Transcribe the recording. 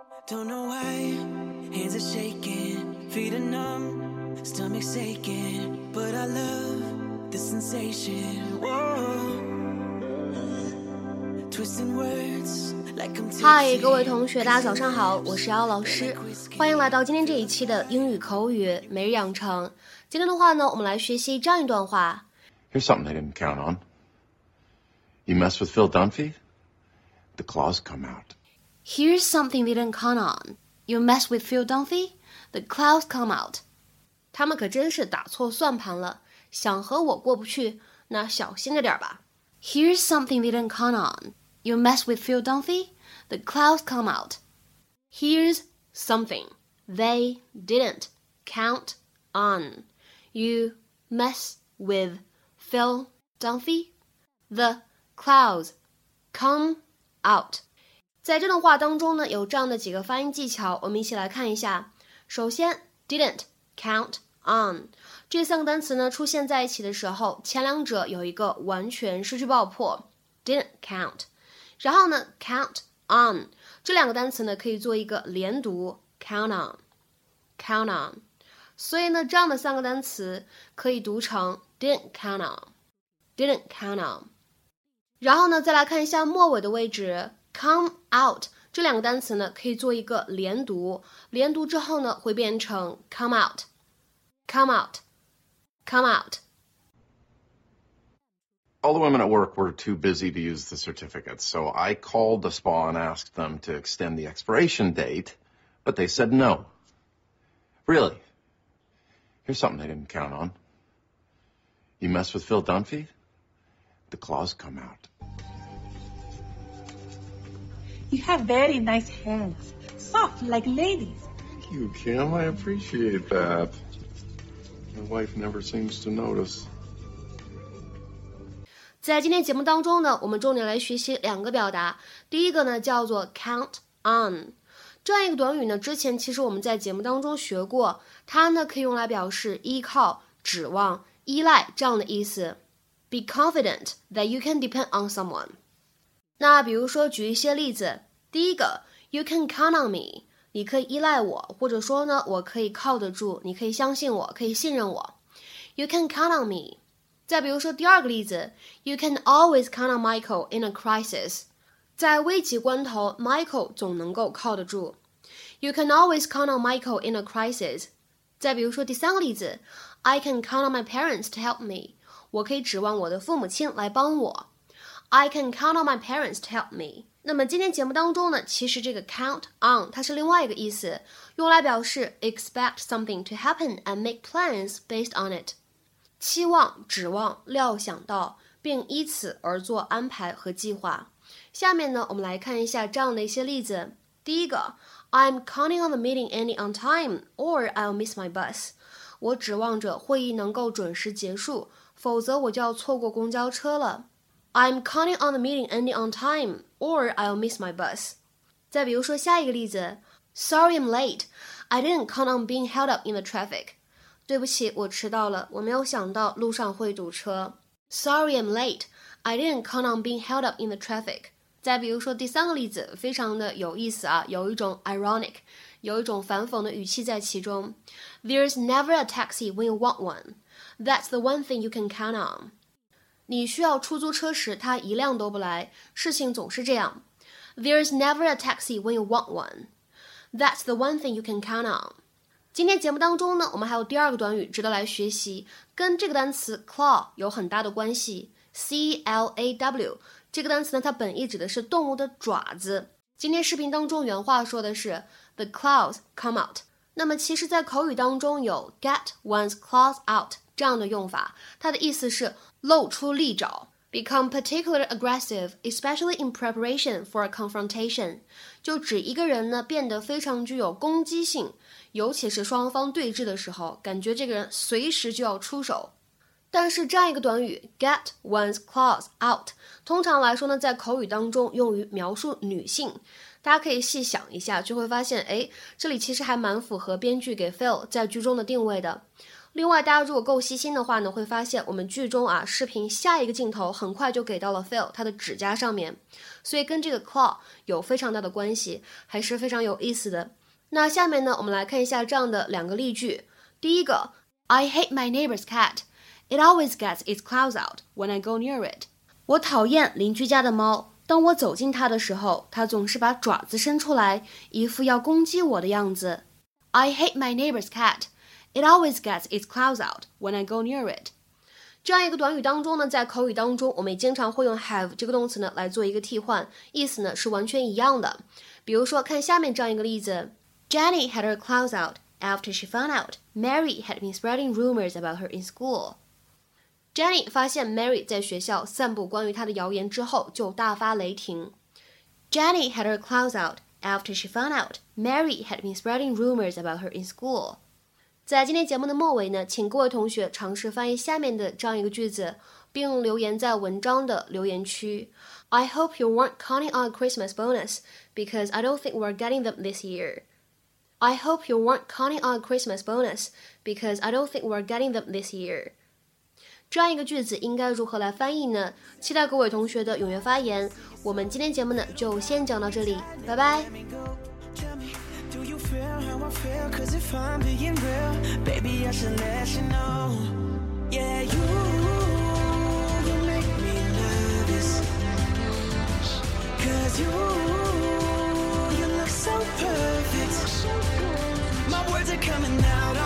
Don't know why, hands are shaking, feet are numb, stomach's aching, but I love the sensation. Whoa, twisting words like I'm tasting. 嗨，各位同学，大家早上好，我是姚老师，欢迎来到今天这一期的英语口语每日养成。今天的话呢，我们来学习这样一段话。 Here's something I didn't count on. You mess with Phil Dunphy, the claws come out.Here's something they didn't count on. You mess with Phil Dunphy, the clouds come out. 他们可真是打错算盘了，想和我过不去，那小心着点吧。Here's something they didn't count on. You mess with Phil Dunphy, the clouds come out. Here's something they didn't count on. You mess with Phil Dunphy, the clouds come out.在这段话当中呢，有这样的几个发音技巧，我们一起来看一下。首先 didn't count on 这三个单词呢出现在一起的时候，前两者有一个完全失去爆破 didn't count， 然后呢 count on 这两个单词呢可以做一个连读 count on， 所以呢这样的三个单词可以读成 didn't count on。 然后呢再来看一下末尾的位置come out 这两个单词呢可以做一个连读，连读之后呢会变成 come out。 All the women at work were too busy to use the certificates, so I called the spa and asked them to extend the expiration date, but they said no. Really? Here's something they didn't count on. You mess with Phil Dunphy, the claws come out.You have very nice hands, soft like ladies. Thank you, Kim. I appreciate that. My wife never seems to notice. 在今天节目当中呢，我们重点来学习两个表达。第一个呢叫做 count on， 这样一个短语呢，之前其实我们在节目当中学过，它呢可以用来表示依靠、指望、依赖这样的意思。Be confident that you can depend on someone.那比如说举一些例子，第一个 You can count on me， 你可以依赖我，或者说呢我可以靠得住，你可以相信我，可以信任我。 You can count on me。 再比如说第二个例子 You can always count on Michael in a crisis， 在危急关头 Michael 总能够靠得住。 You can always count on Michael in a crisis。 再比如说第三个例子 I can count on my parents to help me， 我可以指望我的父母亲来帮我。I can count on my parents to help me。 那么今天节目当中呢，其实这个 count on 它是另外一个意思，用来表示 expect something to happen and make plans based on it， 期望、指望、料想到，并依此而做安排和计划。下面呢，我们来看一下这样的一些例子。第一个 I'm counting on the meeting ending on time or I'll miss my bus。 我指望着会议能够准时结束，否则我就要错过公交车了。I'm counting on the meeting ending on time, or I'll miss my bus. 再比如说下一个例子 Sorry I'm late. I didn't count on being held up in the traffic. 对不起，我迟到了，我没有想到路上会堵车。Sorry I'm late. I didn't count on being held up in the traffic. 再比如说第三个例子，非常的有意思啊，有一种 ironic， 有一种反讽的语气在其中。There's never a taxi when you want one. That's the one thing you can count on.你需要出租车时，它一辆都不来，事情总是这样。There's never a taxi when you want one. That's the one thing you can count on. 今天节目当中呢，我们还有第二个短语值得来学习，跟这个单词 claw 有很大的关系。C-L-A-W 这个单词呢，它本意指的是动物的爪子。今天视频当中原话说的是 The claws come out。那么其实在口语当中有 get one's claws out这样的用法，它的意思是露出利爪 become particularly aggressive, especially in preparation for a confrontation， 就指一个人呢变得非常具有攻击性，尤其是双方对峙的时候，感觉这个人随时就要出手。但是这样一个短语 get one's claws out 通常来说呢在口语当中用于描述女性，大家可以细想一下，就会发现这里其实还蛮符合编剧给 Phil 在剧中的定位的。 另外，大家如果够细心的话呢，会发现我们剧中视频下一个镜头很快就给到了 Phil 他的指甲上面，所以跟这个 claw 有非常大的关系，还是非常有意思的。那下面呢，我们来看一下这样的2个例句。第一个 I hate my neighbor's cat. It always gets its claws out when I go near it. 我讨厌邻居家的猫，当我走近它的时候，它总是把爪子伸出来，一副要攻击我的样子。I hate my neighbor's cat. It always gets its claws out when I go near it. 这样一个短语当中呢，在口语当中，我们也经常会用 have 这个动词呢来做一个替换，意思呢是完全一样的。比如说，看下面这样一个例子 ：Jenny had her claws out after she found out Mary had been spreading rumors about her in school. Jenny 发现 Mary 在学校散布关于她的谣言之后，就大发雷霆。Jenny had her claws out after she found out Mary had been spreading rumors about her in school. 在今天节目的末尾呢，请各位同学尝试翻译下面的这样一个句子，并留言在文章的留言区。I hope you weren't counting on a Christmas bonus because I don't think we're getting them this year. I hope you weren't counting on a Christmas bonus because I don't think we're getting them this year. 这样一个句子应该如何来翻译呢？期待各位同学的踊跃发言。我们今天节目呢就先讲到这里，拜拜。 Cause if I'm being real, baby, I should let you know. Yeah, you make me nervous. Cause you look so perfect. My words are coming out